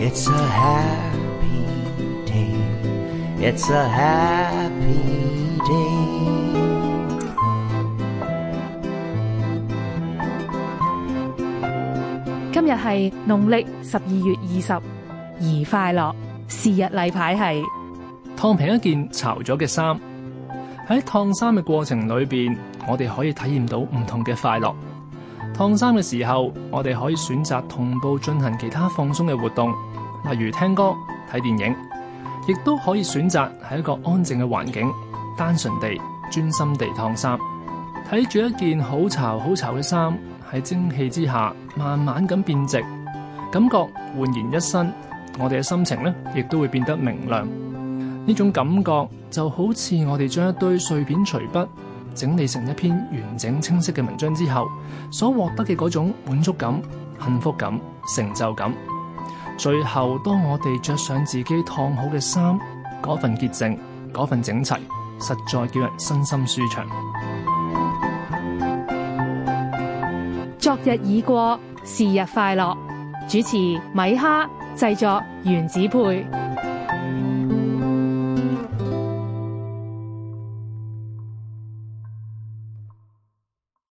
It's a happy day. It's a happy day. 今日係農曆12月20，宜快樂。是日例牌係燙平一件潮咗嘅衫。喺燙衫嘅過程裏邊，我哋可以體驗到唔同嘅快樂。燙衫嘅時候，我哋可以選擇同步進行其他放鬆嘅活動，例如聽歌、睇電影，亦都可以選擇喺一個安靜嘅環境，單純地、專心地燙衫。睇住一件好潮好潮嘅衫喺蒸汽之下慢慢咁變直，感覺煥然一新，我哋嘅心情呢亦都會變得明亮。呢種感覺就好似我哋將一堆碎片隨筆整理成一篇完整清晰嘅文章之後所獲得嘅嗰種滿足感、幸福感、成就感。最後當我哋着上自己燙好嘅衫，嗰份潔淨、嗰份整齊，實在叫人身心舒暢。 昨日已過，是日快樂。主持米哈，製作原子配。